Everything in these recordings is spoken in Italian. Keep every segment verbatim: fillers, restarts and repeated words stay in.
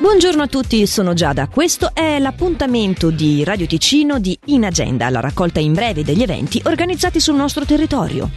Buongiorno a tutti, sono Giada. Questo è l'appuntamento di Radio Ticino di In Agenda, la raccolta in breve degli eventi organizzati sul nostro territorio.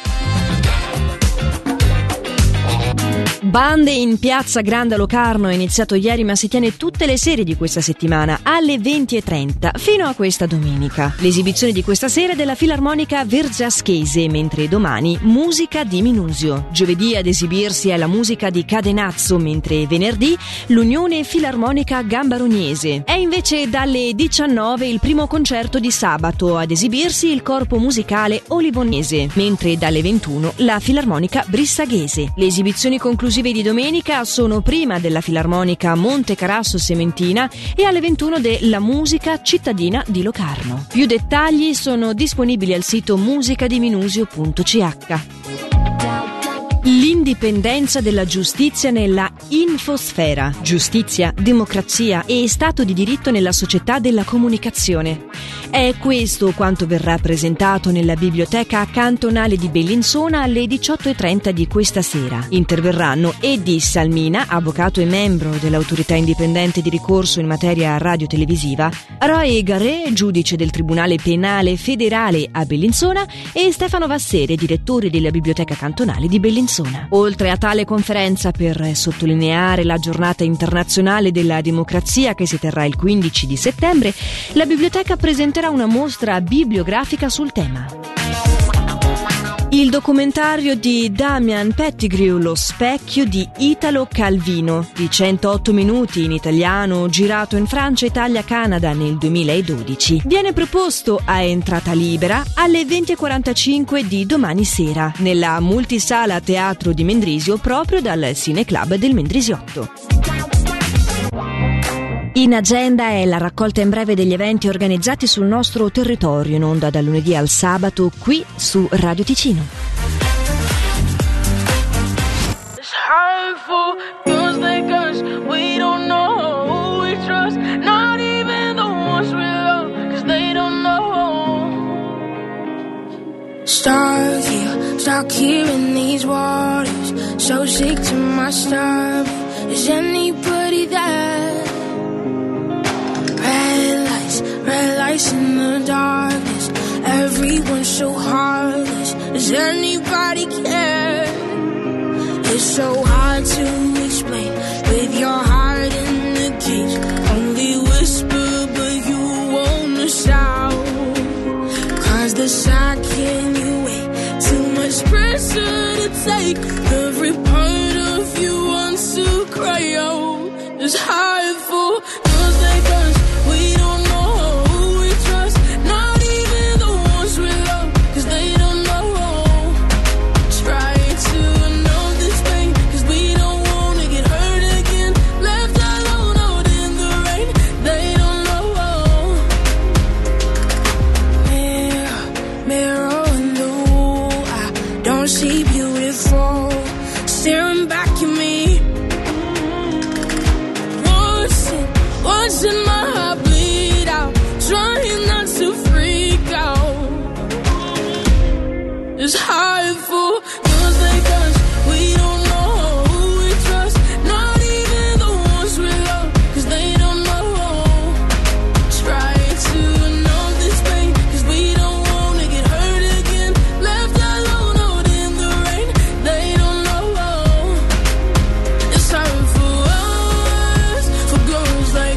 Bande in piazza Grande a Locarno è iniziato ieri, ma si tiene tutte le sere di questa settimana alle venti e trenta fino a questa domenica. L'esibizione di questa sera è della Filarmonica Vergiaschese, mentre domani musica di Minusio. Giovedì ad esibirsi è la musica di Cadenazzo, mentre venerdì l'Unione Filarmonica Gambarognese. È invece dalle diciannove il primo concerto di sabato, ad esibirsi il corpo musicale Olivonese, mentre dalle ventuno la Filarmonica Brissaghese. Le esibizioni conclusive di domenica sono prima della Filarmonica Monte Carasso Sementina e alle ventuno della Musica Cittadina di Locarno. Più dettagli sono disponibili al sito musicadiminusio punto c h. L'indipendenza della giustizia nella infosfera, giustizia, democrazia e stato di diritto nella società della comunicazione. È questo quanto verrà presentato nella Biblioteca Cantonale di Bellinzona alle diciotto e trenta di questa sera. Interverranno Edi Salmina, avvocato e membro dell'autorità indipendente di ricorso in materia radio-televisiva, Roy Garret, giudice del Tribunale Penale Federale a Bellinzona, e Stefano Vassere, direttore della Biblioteca Cantonale di Bellinzona. Oltre a tale conferenza per sottolineare la giornata internazionale della democrazia che si terrà il quindici di settembre, la biblioteca presenterà una mostra bibliografica sul tema. Il documentario di Damian Pettigrew, Lo specchio di Italo Calvino, di centootto minuti in italiano, girato in Francia, Italia, Canada nel duemiladodici, viene proposto a entrata libera alle venti e quarantacinque di domani sera, nella multisala Teatro di Mendrisio, proprio dal Cineclub del Mendrisiotto. In Agenda è la raccolta in breve degli eventi organizzati sul nostro territorio, in onda dal lunedì al sabato qui su Radio Ticino. Stuck here, stuck here in these waters, so sick to my stomach. Is anybody there? Red lights, red lights in the darkness. Everyone's so heartless. Does anybody care? It's so hard to explain with your heart in the cage. Only whisper, but you wanna shout. Cause the second you wait, too much pressure to take. Every part of you wants to cry out. It's hard for girls like us. We don't know who we trust, not even the ones we love, cause they don't know. Try to know this pain, cause we don't wanna get hurt again. Left alone out in the rain, they don't know. Mirror, mirror in the wall, I don't see beautiful staring back at me. What's in, what's in my heart bleed out, trying not to freak out. It's hard for girls like us. We don't know who we trust, not even the ones we love, cause they don't know. Try to know this pain, cause we don't wanna get hurt again. Left alone out in the rain, they don't know. It's hard for us, for girls like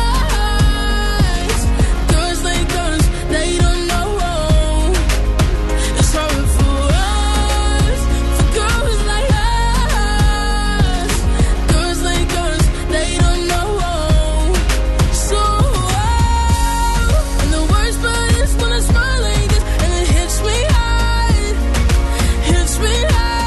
us. Girls like us, they don't know. It's hard for us, for girls like us. Girls like us, they don't know. So, and the worst part is when I smile like this and it hits me hard, hits me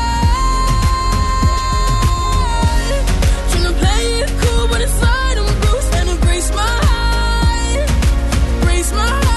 hard. Tryna play it cool, but inside I'm bruised, and it breaks my heart, breaks my heart.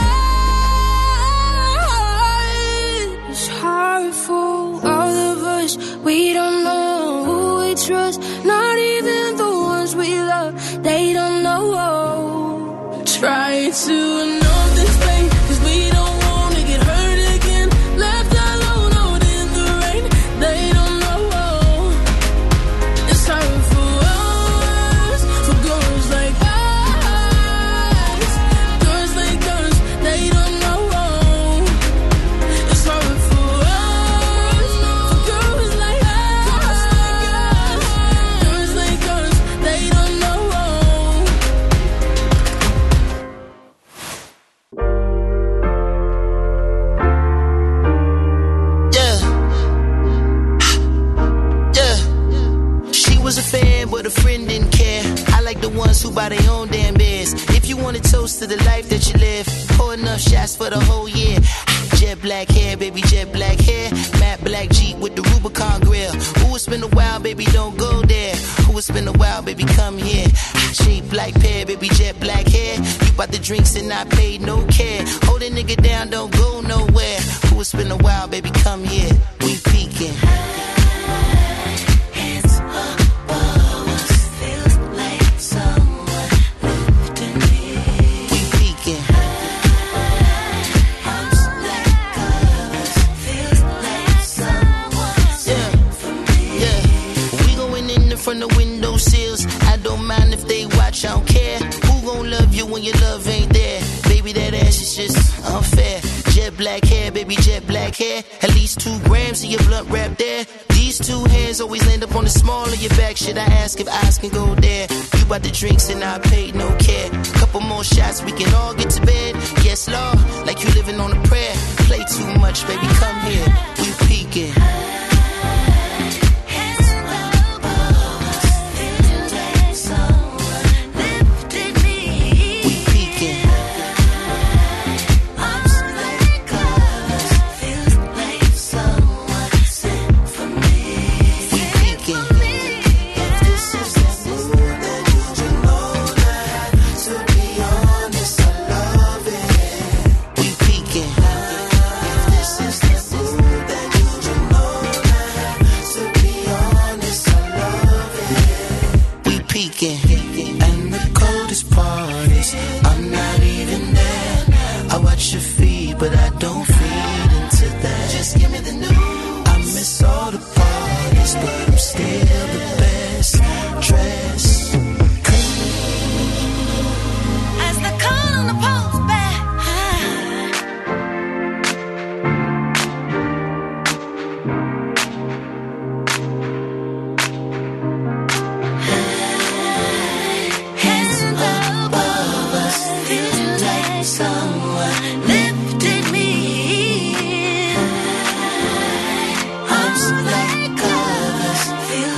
It's hard for all of us. We don't know who we trust, not even the ones we love. They don't know. Try to know this pain, cause we don't wanna get hurt again. Left alone out in the rain, they don't know. It's hard for us, ones who buy their own damn beers. If you want a toast to the life that you live, pour enough shots for the whole year. Jet black hair, baby, jet black hair. Matte black Jeep with the Rubicon grill. Ooh, it's been a while, baby, don't go there. Ooh, it's been a while, baby, come here. Shape black pear, baby, jet black hair. You bought the drinks and I paid no care. Hold a nigga down, don't go nowhere. Ooh, it's been a while, baby, come here. We peeking. From the window sills, I don't mind if they watch, I don't care. Who gon' love you when your love ain't there? Baby, that ass is just unfair. Jet black hair, baby, jet black hair. At least two grams of your blunt wrap there. These two hands always land up on the small of your back. Should I ask if eyes can go there? You bought the drinks and I paid no care. Couple more shots, we can all get to bed. Yes, Lord, like you living on a prayer. Play too much, baby, come here. We peeking. And the coldest part is I'm not even there. I watch your feed, but I don't feed into that. Just give me the news. I miss all the parties, but I'm still the best. Dress